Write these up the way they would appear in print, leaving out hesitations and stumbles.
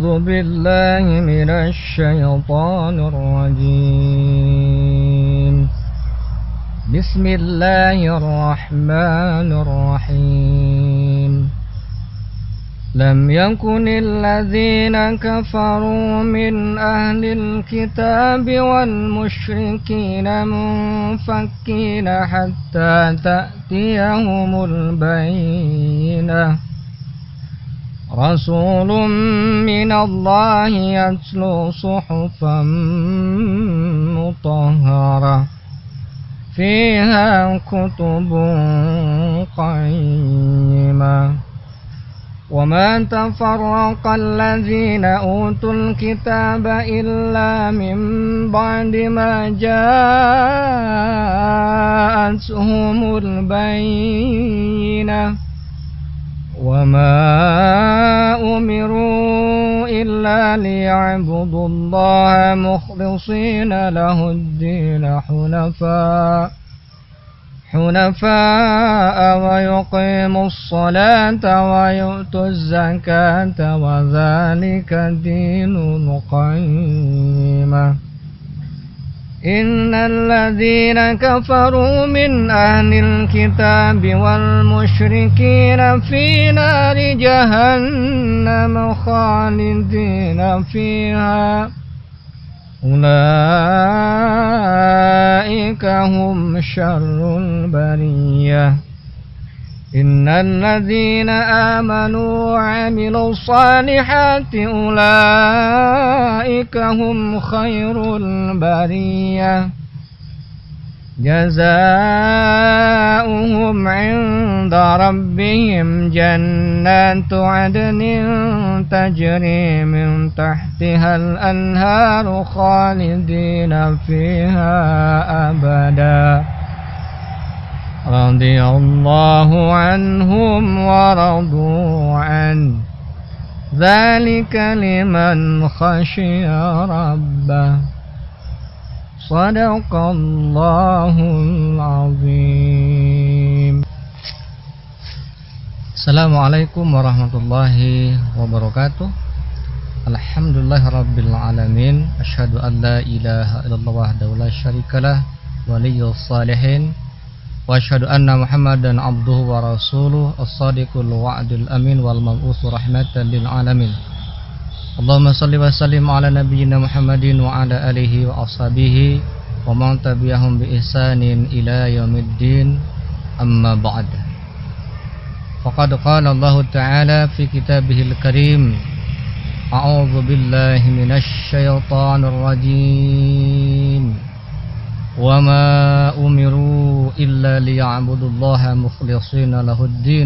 أعوذ بالله من الشيطان الرجيم. بسم الله الرحمن الرحيم. لم يكن الذين كفروا من أهل الكتاب والمشركين منفكين حتى تأتيهم البينة. رسول من الله يتلو صحفا مطهرة فيها كتب قيمة. وما تفرق الذين أوتوا الكتاب إلا من بعد ما جاءتهم البينة. وما أمروا إلا ليعبدوا الله مخلصين له الدين حنفاء ويقيموا الصلاة ويؤتوا الزكاة وذلك دين القيمة. إن الذين كفروا من أهل الكتاب والمشركين في نار جهنم خالدين فيها أولئك هم شر البرية. إن الذين آمنوا وعملوا الصالحات أولئك هم خير البرية. جزاؤهم عند ربهم جنات عدن تجري من تحتها الأنهار خالدين فيها أبدا. رضي الله عنهم ورضوا عنه ذلك لمن خشي ربه. Sadaqallahul azim. Assalamualaikum warahmatullahi wabarakatuh. Alhamdulillahirabbil alamin. Asyhadu an la ilaha illallah wahdahu la syarikalah waliyyus shalihin. Wa asyhadu anna Muhammadan abduhu wa rasuluh as-sadiqul wa'dul amin wal mab'utsu rahmatan lil alamin. Allahumma salli wa sallim ala nabiyyina Muhammadin wa ala alihi wa ashabihi wa man tabi'ahum bi ihsanin ila yaumiddin, amma ba'd. Faqad qala Allah Ta'ala fi kitabihil karim, a'udzu billahi minasy syaithanir rajim. Wa ma umiru illa liya'budullaha mukhlishina lahud-din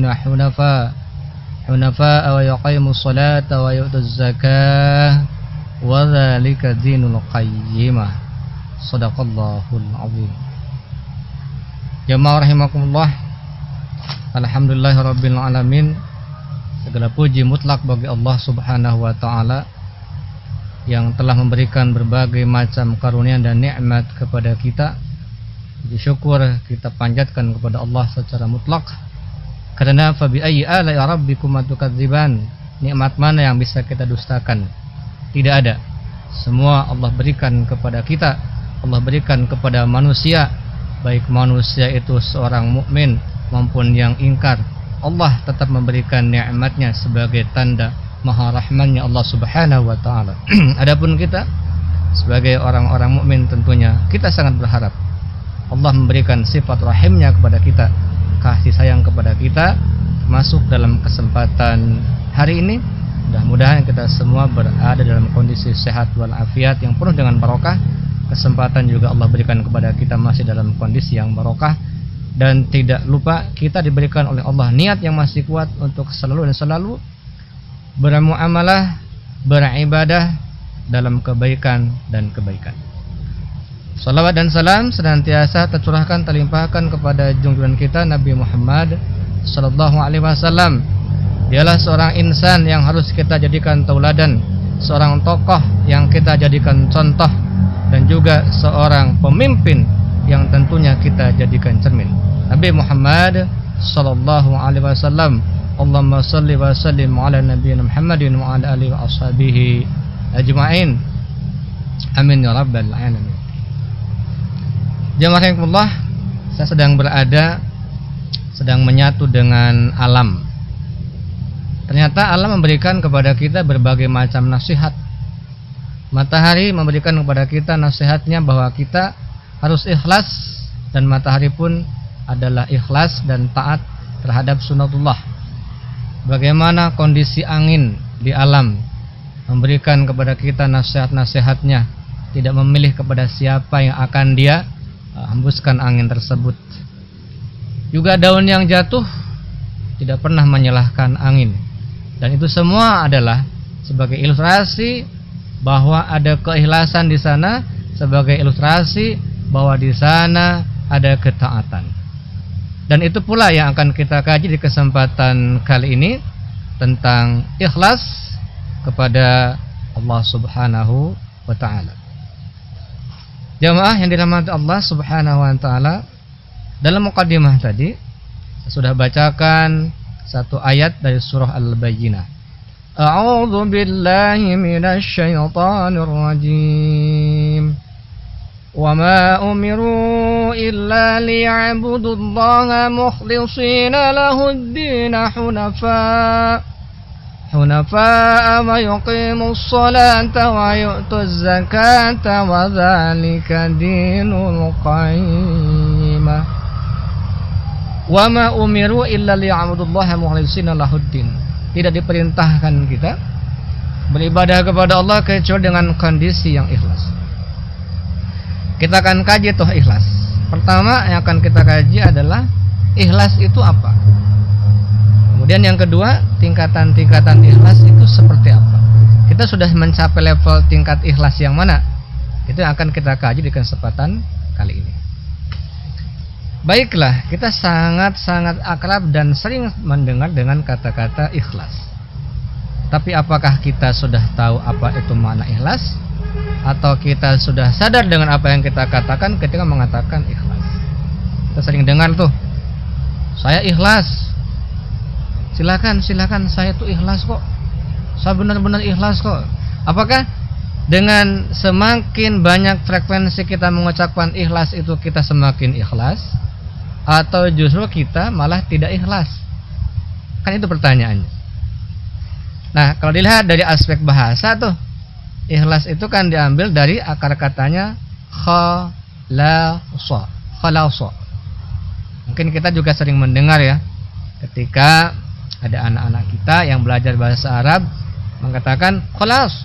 hunafa wa yuqimus salata wa yu'tuz zakah wa dzalika dinul qayyimah. Shadaqallahul azim. Jamaah rahimakumullah. Alhamdulillahirabbil alamin. Segala puji mutlak bagi Allah Subhanahu wa taala yang telah memberikan berbagai macam karunia dan nikmat kepada kita. Puji syukur kita panjatkan kepada Allah secara mutlak. Karena fabi ayyi ala'i rabbikuma tukadziban, nikmat mana yang bisa kita dustakan? Tidak ada. Semua Allah berikan kepada kita. Allah berikan kepada manusia, baik manusia itu seorang mukmin maupun yang ingkar. Allah tetap memberikan nikmatnya sebagai tanda maha rahmannya Allah Subhanahu wa taala. Adapun kita sebagai orang-orang mukmin tentunya kita sangat berharap Allah memberikan sifat rahimnya kepada kita, kasih sayang kepada kita, masuk dalam kesempatan hari ini. Mudah-mudahan kita semua berada dalam kondisi sehat walafiat yang penuh dengan barokah. Kesempatan juga Allah berikan kepada kita masih dalam kondisi yang barokah. Dan tidak lupa kita diberikan oleh Allah niat yang masih kuat untuk selalu dan selalu bermuamalah, beribadah dalam kebaikan dan kebaikan. Salawat dan salam senantiasa tercurahkan, terlimpahkan kepada junjungan kita Nabi Muhammad sallallahu alaihi wasallam. Dialah seorang insan yang harus kita jadikan tauladan, seorang tokoh yang kita jadikan contoh, dan juga seorang pemimpin yang tentunya kita jadikan cermin. Nabi Muhammad sallallahu alaihi wasallam Allahumma salli wa sallim ala nabiyyina Muhammadin wa ala alihi wa ashabihi ajma'in. Amin ya rabbal alamin. Jamaah rahimakumullah, saya sedang menyatu dengan alam. Ternyata alam memberikan kepada kita berbagai macam nasihat. Matahari memberikan kepada kita nasihatnya bahwa kita harus ikhlas, dan matahari pun adalah ikhlas dan taat terhadap sunatullah. Bagaimana kondisi angin di alam memberikan kepada kita nasihat-nasihatnya, tidak memilih kepada siapa yang akan dia hembuskan angin tersebut. Juga daun yang jatuh tidak pernah menyalahkan angin, dan itu semua adalah sebagai ilustrasi bahwa ada keikhlasan di sana, sebagai ilustrasi bahwa di sana ada ketaatan. Dan itu pula yang akan kita kaji di kesempatan kali ini, tentang ikhlas kepada Allah Subhanahu wa taala. Jamaah yang dirahmati Allah Subhanahu wa taala, dalam mukadimah tadi saya sudah bacakan satu ayat dari surah Al-Bayyinah. A'udzu billahi minasy syaithanir rajim. Wa ma umiru illa liya'budullaha mukhlishina lahud-din hunafa wa yuqimus salata wa yu'tuz zakata wa dzalika dinul qayyimah. Wa ma umiru illa liya'budullaha mukhlishina lahud-din. Tidak diperintahkan kita beribadah kepada Allah kecuali dengan kondisi yang ikhlas. Kita akan kaji tuh ikhlas. Pertama yang akan kita kaji adalah ikhlas itu apa. Kemudian yang kedua, tingkatan-tingkatan ikhlas itu seperti apa. Kita sudah mencapai level tingkat ikhlas yang mana? Itu yang akan kita kaji di kesempatan kali ini. Baiklah, kita sangat-sangat akrab dan sering mendengar dengan kata-kata ikhlas. Tapi apakah kita sudah tahu apa itu makna ikhlas? Atau kita sudah sadar dengan apa yang kita katakan ketika mengatakan ikhlas? Kita sering dengar tuh, saya ikhlas. Silakan, saya tuh ikhlas kok. Saya benar-benar ikhlas kok. Apakah dengan semakin banyak frekuensi kita mengucapkan ikhlas itu kita semakin ikhlas? Atau justru kita malah tidak ikhlas? Kan itu pertanyaannya. Nah, kalau dilihat dari aspek bahasa tuh, ikhlas itu kan diambil dari akar katanya khalasa. Mungkin kita juga sering mendengar ya, ketika ada anak-anak kita yang belajar bahasa Arab mengatakan khalas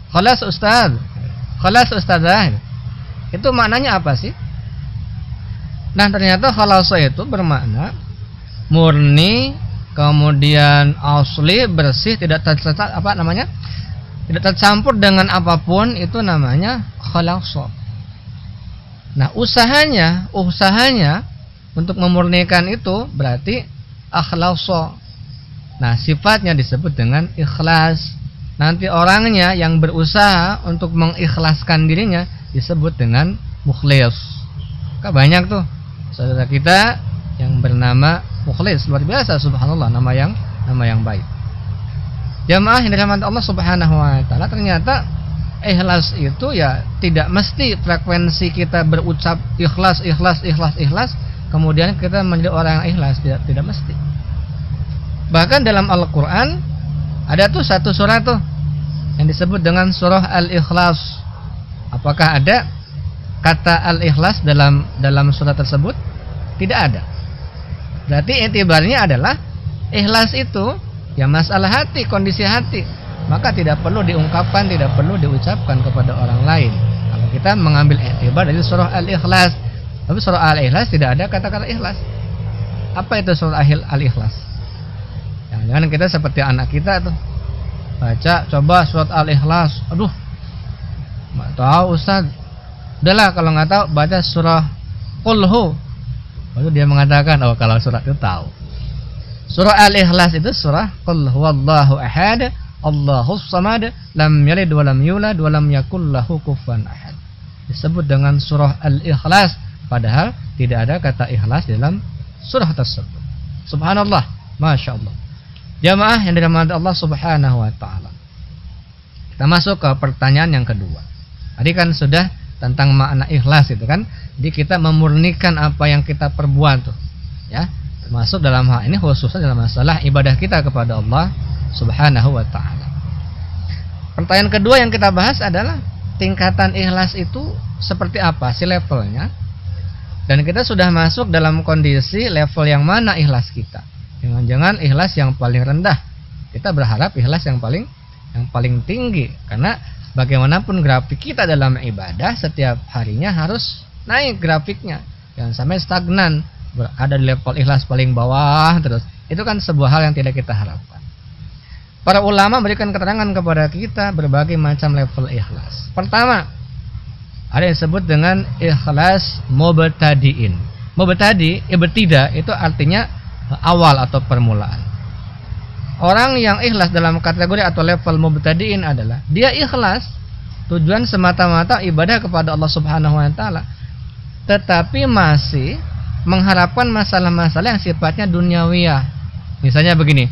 ustazah. Itu maknanya apa sih? Nah, ternyata khalasa itu bermakna murni, kemudian asli, bersih, tidak tercampur dengan apapun, itu namanya khalasa. Nah, usahanya untuk memurnikan itu berarti akhlasa. Nah, sifatnya disebut dengan ikhlas. Nanti orangnya yang berusaha untuk mengikhlaskan dirinya disebut dengan mukhlis. Banyak tuh saudara kita yang bernama mukhlis, luar biasa, subhanallah, nama yang baik. Jamaah yang dirahmati Allah Subhanahu wa taala, ternyata ikhlas itu ya tidak mesti frekuensi kita berucap ikhlas kemudian kita menjadi orang yang ikhlas, tidak mesti. Bahkan dalam Al-Qur'an ada tuh satu surah tuh yang disebut dengan surah Al-Ikhlas. Apakah ada kata al-ikhlas dalam surah tersebut? Tidak ada. Berarti etibarnya adalah ikhlas itu ya masalah hati, kondisi hati. Maka tidak perlu diungkapkan, tidak perlu diucapkan kepada orang lain. Kalau kita mengambil etibar dari surah Al-Ikhlas. Tapi surah Al-Ikhlas tidak ada kata-kata ikhlas. Apa itu surah Al-Ikhlas? Jangan kita seperti anak kita tuh, baca coba surat Al-Ikhlas. Aduh, nggak tahu Ustaz. Udahlah kalau nggak tahu baca surah Qul. Lalu dia mengatakan, oh kalau surat itu tahu. Surah Al-Ikhlas itu surah Qul huwallahu ahad, Allahus samad, lam yalid wa lam yulad wa lam yakul lahu kufuwan ahad. Disebut dengan surah Al-Ikhlas, padahal tidak ada kata ikhlas dalam surah tersebut. Subhanallah, Masya Allah. Jamaah yang dirahmati Allah Subhanahu wa taala. Kita masuk ke pertanyaan yang kedua. Tadi kan sudah tentang makna ikhlas itu kan. Jadi kita memurnikan apa yang kita perbuat tuh. Ya, termasuk dalam hal ini khususnya dalam masalah ibadah kita kepada Allah Subhanahu wa taala. Pertanyaan kedua yang kita bahas adalah tingkatan ikhlas itu seperti apa sih levelnya? Dan kita sudah masuk dalam kondisi level yang mana ikhlas kita? Jangan-jangan ikhlas yang paling rendah. Kita berharap ikhlas yang paling tinggi, karena bagaimanapun grafik kita dalam ibadah setiap harinya harus naik grafiknya. Jangan sampai stagnan, berada di level ikhlas paling bawah terus. Itu kan sebuah hal yang tidak kita harapkan. Para ulama memberikan keterangan kepada kita berbagai macam level ikhlas. Pertama, ada yang disebut dengan ikhlas mubtadi'in. Ibtida itu artinya awal atau permulaan. Orang yang ikhlas dalam kategori atau level mubtadi'in adalah dia ikhlas tujuan semata-mata ibadah kepada Allah Subhanahu wa taala, tetapi masih mengharapkan masalah-masalah yang sifatnya duniawiyah. Misalnya begini,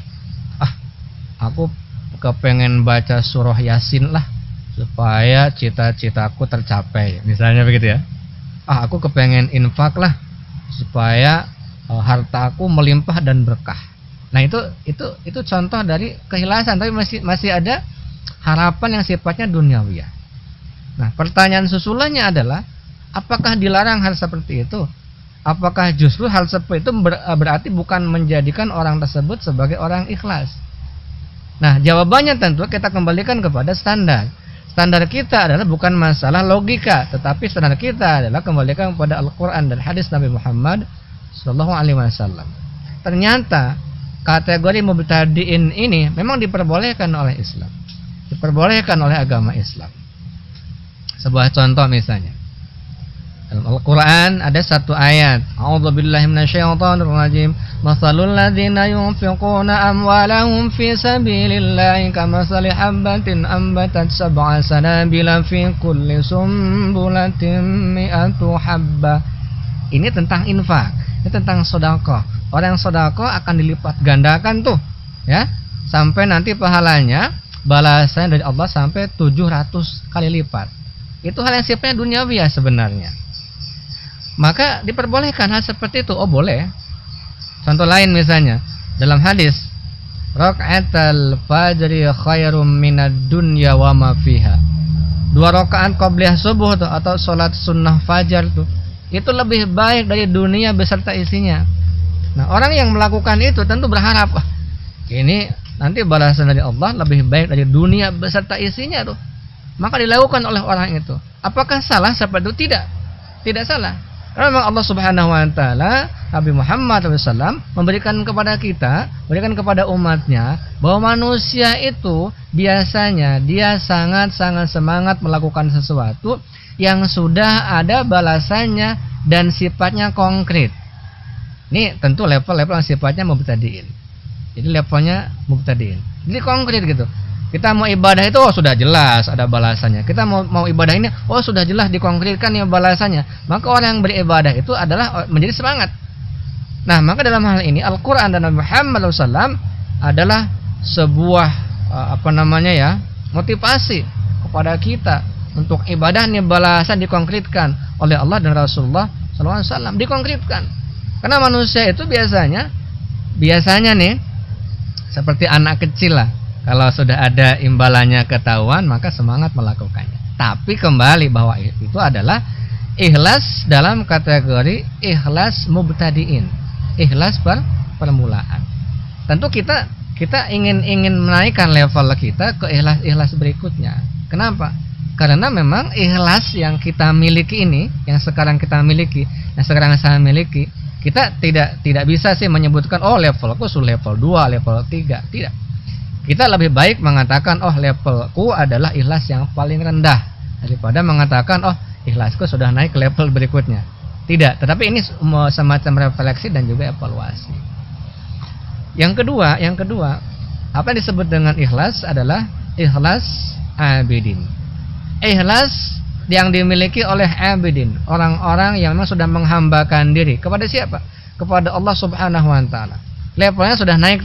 aku kepengen baca surah Yasin lah supaya cita-citaku tercapai, misalnya begitu ya. Aku kepengen infak lah supaya hartaku melimpah dan berkah. Nah, itu contoh dari keikhlasan, tapi masih ada harapan yang sifatnya duniawiyah. Nah, pertanyaan susulannya adalah apakah dilarang hal seperti itu? Apakah justru hal seperti itu berarti bukan menjadikan orang tersebut sebagai orang ikhlas? Nah, jawabannya tentu kita kembalikan kepada standar. Standar kita adalah bukan masalah logika, tetapi standar kita adalah kembalikan kepada Al-Quran dan hadis Nabi Muhammad Sallallahu Alaihi Wasallam. Ternyata kategori mubtadi'in ini memang diperbolehkan oleh Islam, diperbolehkan oleh agama Islam. Sebuah contoh misalnya, dalam Al-Quran ada satu ayat, A'udzubillahi minasyaitonirrajim, Matsalul ladzina yunfiquna amwalahum fi sabilillahi kamatsali habbatin ambatat sab'a sanabila fi kulli sumbulatin mi'atu habbah. Ini tentang infak. Ini tentang sedekah. Orang sedekah akan dilipat gandakan tuh, ya, sampai nanti pahalanya balasan dari Allah sampai 700 kali lipat. Itu hal yang sifatnya duniawi ya sebenarnya. Maka diperbolehkan hal seperti itu. Oh, boleh. Contoh lain misalnya dalam hadis, raka'atul fajri khairum minad dunya wa ma fiha. 2 rakaat qabliyah subuh tuh, atau salat sunnah fajar tuh, itu lebih baik dari dunia beserta isinya. Nah, orang yang melakukan itu tentu berharap ini nanti balasan dari Allah lebih baik dari dunia beserta isinya tuh. Maka dilakukan oleh orang itu. Apakah salah seperti itu? Tidak salah. Karena memang Allah Subhanahu wa taala, Nabi Muhammad SAW memberikan kepada kita, memberikan kepada umatnya bahwa manusia itu biasanya dia sangat-sangat semangat melakukan sesuatu yang sudah ada balasannya dan sifatnya konkret. Ini tentu level-level yang sifatnya mubtadi'in. Jadi levelnya mubtadi'in. Jadi konkret gitu. Kita mau ibadah itu sudah jelas ada balasannya. Kita mau ibadah ini sudah jelas dikonkretkan ya balasannya. Maka orang yang beribadah itu adalah menjadi semangat. Nah, maka dalam hal ini Al-Qur'an dan Nabi Muhammad SAW adalah sebuah motivasi kepada kita untuk ibadah ini balasan dikonkretkan oleh Allah dan Rasulullah SAW, dikonkretkan. Karena manusia itu biasanya nih seperti anak kecil lah. Kalau sudah ada imbalannya ketahuan maka semangat melakukannya. Tapi kembali bahwa itu adalah ikhlas dalam kategori ikhlas mubtadi'in, ikhlas permulaan. Tentu kita ingin menaikkan level kita ke ikhlas berikutnya. Kenapa? Karena memang ikhlas yang kita miliki ini, yang sekarang kita miliki, yang sekarang saya miliki, kita tidak bisa sih menyebutkan levelku sudah level 2, level 3. Tidak. Kita lebih baik mengatakan levelku adalah ikhlas yang paling rendah daripada mengatakan ikhlasku sudah naik ke level berikutnya. Tidak, tetapi ini semacam refleksi dan juga evaluasi. Yang kedua, apa yang disebut dengan ikhlas adalah ikhlas abidin. Ikhlas yang dimiliki oleh abidin, orang-orang yang memang sudah menghambakan diri kepada siapa? Kepada Allah Subhanahu wa taala. Levelnya sudah naik tuh.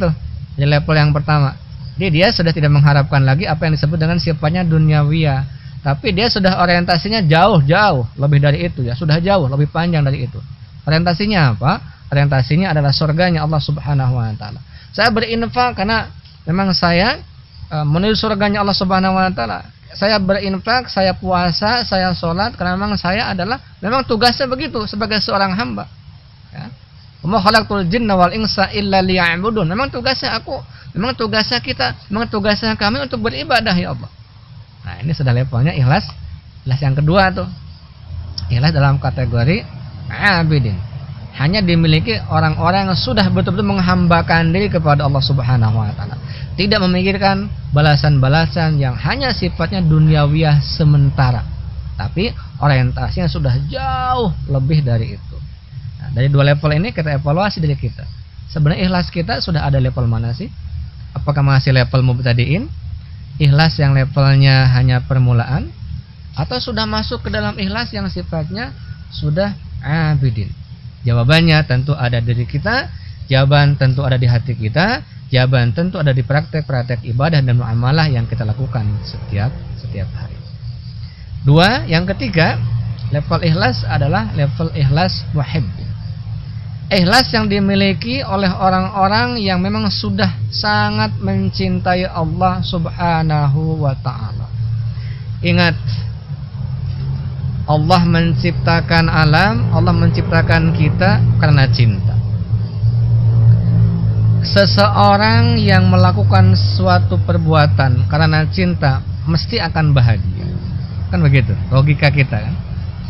Di level yang pertama. Jadi dia sudah tidak mengharapkan lagi apa yang disebut dengan sifatnya duniawiyah, tapi dia sudah orientasinya jauh lebih dari itu ya, sudah jauh lebih panjang dari itu. Orientasinya apa? Orientasinya adalah surganya Allah Subhanahu wa taala. Saya berinfak karena memang saya menuju surganya Allah Subhanahu wa taala. Saya berinfak, saya puasa, saya sholat karena memang saya adalah memang tugasnya begitu sebagai seorang hamba. Ya. Wa ma khalaqtul jinna wal insa illa liya'budun. Memang tugasnya aku, memang tugasnya kita, memang tugasnya kami untuk beribadah ya Allah. Nah, ini sudah levelnya ikhlas. Ikhlas yang kedua tuh. Ikhlas dalam kategori abidin. Hanya dimiliki orang-orang yang sudah betul-betul menghambakan diri kepada Allah Subhanahu wa taala. Tidak memikirkan balasan-balasan yang hanya sifatnya duniawiyah sementara. Tapi orientasinya sudah jauh lebih dari itu. Nah, dari dua level ini kita evaluasi diri kita. Sebenarnya ikhlas kita sudah ada level mana sih? Apakah masih level mubtadiin? Ikhlas yang levelnya hanya permulaan? Atau sudah masuk ke dalam ikhlas yang sifatnya sudah abidin? Jawabannya tentu ada di diri kita, jawaban tentu ada di hati kita, jawaban tentu ada di praktek-praktek ibadah dan muamalah yang kita lakukan setiap hari. Dua, yang ketiga, level ikhlas adalah level ikhlas muhibb. Ikhlas yang dimiliki oleh orang-orang yang memang sudah sangat mencintai Allah Subhanahu wa ta'ala. Ingat, Allah menciptakan alam, Allah menciptakan kita karena cinta. Seseorang yang melakukan suatu perbuatan karena cinta mesti akan bahagia. Kan begitu logika kita kan.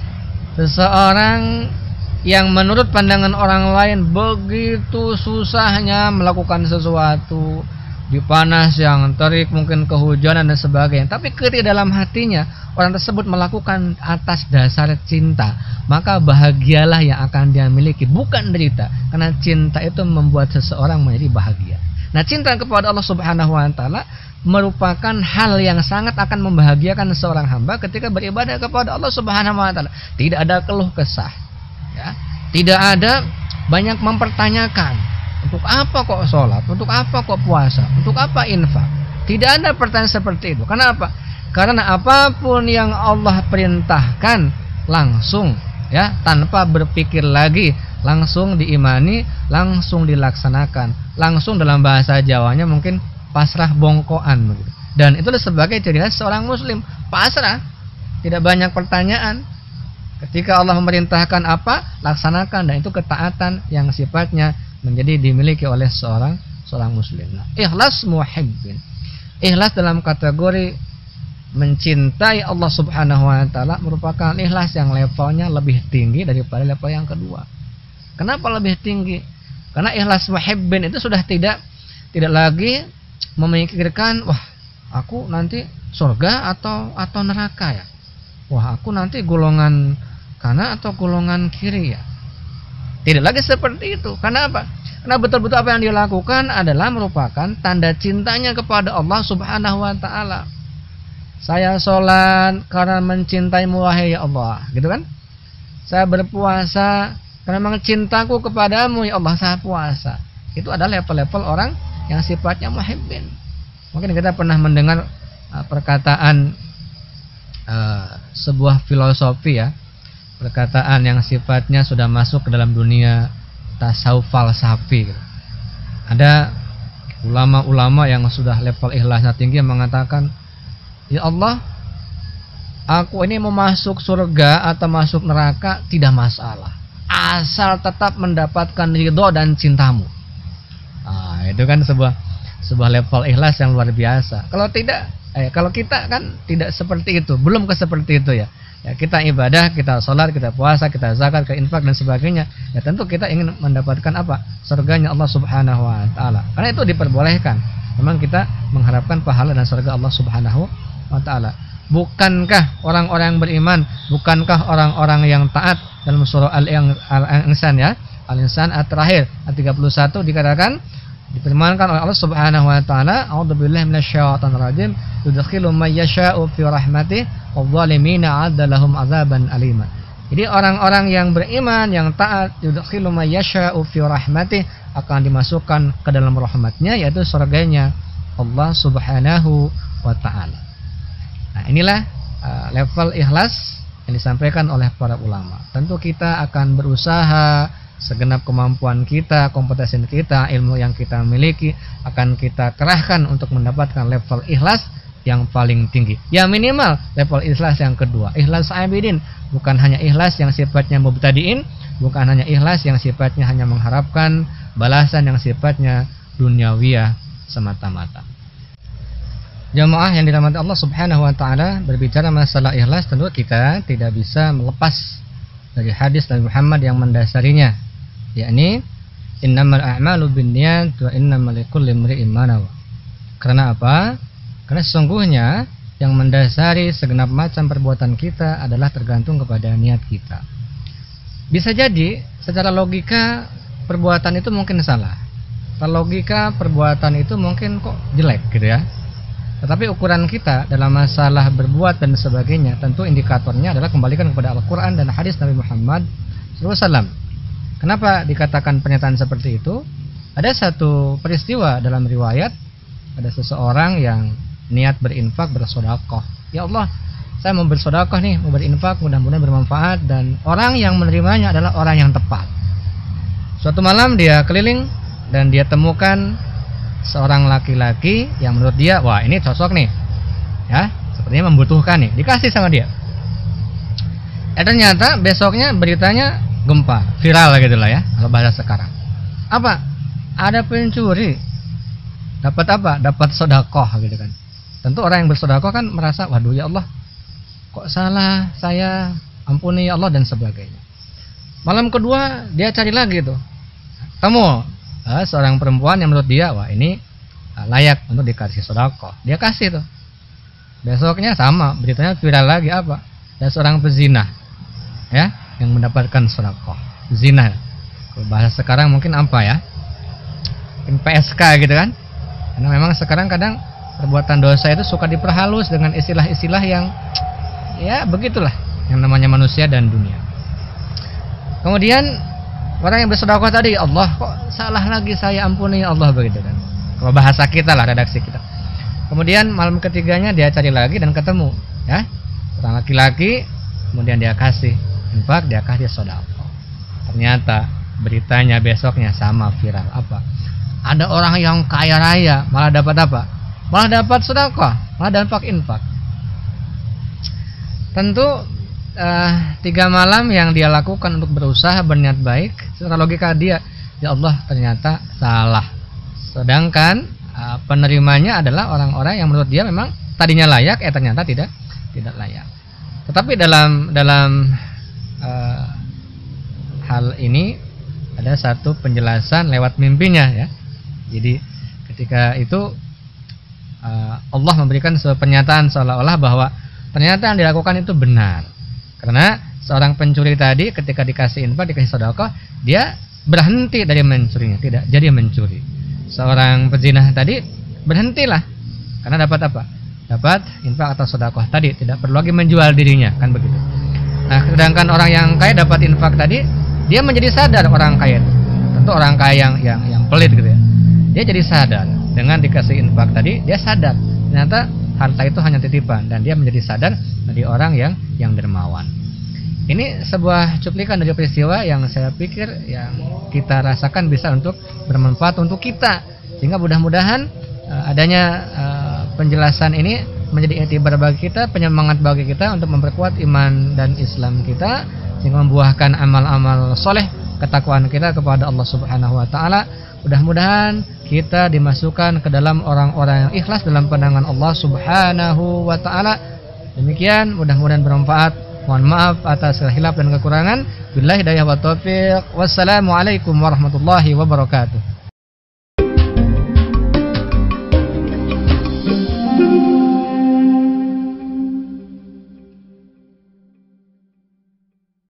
Seseorang yang menurut pandangan orang lain begitu susahnya melakukan sesuatu, di panas yang terik, mungkin kehujanan dan sebagainya, tapi ketika dalam hatinya orang tersebut melakukan atas dasar cinta, maka bahagialah yang akan dia miliki, bukan derita. Karena cinta itu membuat seseorang menjadi bahagia. Nah, cinta kepada Allah Subhanahu wa taala merupakan hal yang sangat akan membahagiakan seorang hamba ketika beribadah kepada Allah Subhanahu wa taala. Tidak ada keluh kesah, ya. Tidak ada banyak mempertanyakan, untuk apa kok sholat, untuk apa kok puasa, untuk apa infak. Tidak ada pertanyaan seperti itu. Kenapa? Karena apapun yang Allah perintahkan langsung, ya, tanpa berpikir lagi, langsung diimani, langsung dilaksanakan. Langsung dalam bahasa Jawanya mungkin pasrah bongkoan begitu. Dan itu sebagai ciri khas seorang muslim, pasrah, tidak banyak pertanyaan. Ketika Allah memerintahkan apa, laksanakan, dan itu ketaatan yang sifatnya menjadi dimiliki oleh seorang muslim. Nah, ikhlas muhibbin. Ikhlas dalam kategori mencintai Allah Subhanahu wa taala merupakan ikhlas yang levelnya lebih tinggi daripada level yang kedua. Kenapa lebih tinggi? Karena ikhlas muhibbin itu sudah tidak lagi memikirkan, wah, aku nanti surga atau neraka ya. Wah, aku nanti golongan kanan atau golongan kiri ya. Tidak lagi seperti itu. Karena apa? Karena betul-betul apa yang dia lakukan adalah merupakan tanda cintanya kepada Allah Subhanahu wa taala. Saya sholat karena mencintaimu wahai ya Allah, gitu kan? Saya berpuasa karena memang cintaku kepadamu ya Allah, saya puasa. Itu adalah level-level orang yang sifatnya muhibbin. Mungkin kita pernah mendengar perkataan sebuah filosofi ya, perkataan yang sifatnya sudah masuk ke dalam dunia tasawuf falsafi. Ada ulama-ulama yang sudah level ikhlasnya tinggi yang mengatakan, ya Allah, aku ini mau masuk surga atau masuk neraka tidak masalah, asal tetap mendapatkan ridho dan cintamu. Nah, itu kan sebuah level ikhlas yang luar biasa. Kalau tidak, kalau kita kan tidak seperti itu, belum ke seperti itu ya. Ya, kita ibadah, kita sholat, kita puasa, kita zakat, kita infak dan sebagainya. Ya tentu kita ingin mendapatkan apa? Surganya Allah Subhanahu wa taala. Karena itu diperbolehkan. Memang kita mengharapkan pahala dan surga Allah Subhanahu wa taala. Bukankah orang-orang yang beriman, bukankah orang-orang yang taat dalam surah Al-Insan ya? Al-Insan ayat terakhir ayat 31 dikatakan, difirmankan oleh Allah Subhanahu wa taala, a'udzubillahi minasyaitonir rajim, yudkhilu may yasha'u fi rahmatihi wadh-dhalimina 'adda lahum 'adzaban alima. Jadi orang-orang yang beriman, yang taat, yudkhilu may yasha'u fi rahmatih, akan dimasukkan ke dalam rahmatnya, yaitu surganya Allah Subhanahu wa ta'ala. Nah, inilah level ikhlas yang disampaikan oleh para ulama. Tentu kita akan berusaha segenap kemampuan kita, kompetensi kita, ilmu yang kita miliki akan kita kerahkan untuk mendapatkan level ikhlas yang paling tinggi. Ya minimal level ikhlas yang kedua, ikhlas abidin, bukan hanya ikhlas yang sifatnya mubtadiin, bukan hanya ikhlas yang sifatnya hanya mengharapkan balasan yang sifatnya duniawiyah semata-mata. Jamaah yang dirahmati Allah Subhanahu wa taala, berbicara masalah ikhlas tentu kita tidak bisa melepas dari hadis Nabi Muhammad yang mendasarinya, yakni innamal a'malu binniyat wa innamal likulli imri'in ma nawa. Karena apa? Karena sesungguhnya yang mendasari segenap macam perbuatan kita adalah tergantung kepada niat kita. Bisa jadi secara logika perbuatan itu mungkin salah. Secara logika perbuatan itu mungkin kok jelek gitu ya. Tetapi ukuran kita dalam masalah berbuat dan sebagainya, tentu indikatornya adalah kembalikan kepada Al-Quran dan hadis Nabi Muhammad SAW. Kenapa dikatakan pernyataan seperti itu? Ada satu peristiwa dalam riwayat, ada seseorang yang niat berinfak, bersedekah. Ya Allah, saya mau bersedekah nih, mau berinfak, mudah-mudahan bermanfaat, dan orang yang menerimanya adalah orang yang tepat. Suatu malam dia keliling dan dia temukan seorang laki-laki yang menurut dia, wah ini cocok nih, ya, sepertinya membutuhkan nih, dikasih sama dia. Ternyata besoknya beritanya gempar, viral gitu lah ya, kalau bahasa sekarang. Apa? Ada pencuri. Dapat apa? Dapat sedekah gitu kan. Tentu orang yang bersedekah kan merasa, waduh ya Allah, kok salah saya, ampuni ya Allah dan sebagainya. Malam kedua dia cari lagi tuh, temu seorang perempuan yang menurut dia, wah ini layak untuk dikasih sedekah. Dia kasih tuh. Besoknya sama, beritanya viral lagi, apa? Ada seorang pezina, ya, yang mendapatkan sedekah. Zina. Kalau bahasa sekarang mungkin apa ya? Mungkin PSK gitu kan? Karena memang sekarang kadang perbuatan dosa itu suka diperhalus dengan istilah-istilah yang ya begitulah yang namanya manusia dan dunia. Kemudian orang yang bersedekah tadi, Allah kok salah lagi saya, ampuni ya Allah, begitu kan. Kalau bahasa kita lah, redaksi kita. Kemudian malam ketiganya dia cari lagi dan ketemu, ya, seorang laki-laki, kemudian dia kasih infak, dia kasih sedekah. Ternyata beritanya besoknya sama, viral. Apa? Ada orang yang kaya raya malah dapat apa? Malah dapat sedekah, malah dapat infak. Tentu 3 malam yang dia lakukan untuk berusaha berniat baik, secara logika dia, ya Allah ternyata salah. Sedangkan penerimanya adalah orang-orang yang menurut dia memang tadinya layak, ternyata tidak layak. Tetapi dalam hal ini ada satu penjelasan lewat mimpinya, ya. Jadi ketika itu Allah memberikan sebuah pernyataan seolah-olah bahwa ternyata yang dilakukan itu benar. Karena seorang pencuri tadi ketika dikasih infak, dikasih sedekah, dia berhenti dari mencurinya, tidak jadi mencuri. Seorang pezina tadi berhentilah karena dapat apa? Dapat infak atau sedekah tadi, tidak perlu lagi menjual dirinya, kan begitu. Nah, sedangkan orang yang kaya dapat infak tadi, dia menjadi sadar orang kaya itu. Tentu orang kaya yang pelit gitu ya. Dia jadi sadar dengan dikasih infak tadi, dia sadar ternyata harta itu hanya titipan, dan dia menjadi sadar dari orang yang dermawan. Ini sebuah cuplikan dari peristiwa yang saya pikir yang kita rasakan bisa untuk bermanfaat untuk kita, sehingga mudah-mudahan adanya penjelasan ini menjadi iktibar bagi kita, penyemangat bagi kita untuk memperkuat iman dan Islam kita, sehingga membuahkan amal-amal soleh, ketakwaan kita kepada Allah Subhanahu wa taala. Mudah-mudahan kita dimasukkan ke dalam orang-orang yang ikhlas dalam pandangan Allah Subhanahu wa taala. Demikian, mudah-mudahan bermanfaat. Mohon maaf atas khilaf dan kekurangan. Billahi hidayah wa taufiq. Wassalamualaikum warahmatullahi wabarakatuh.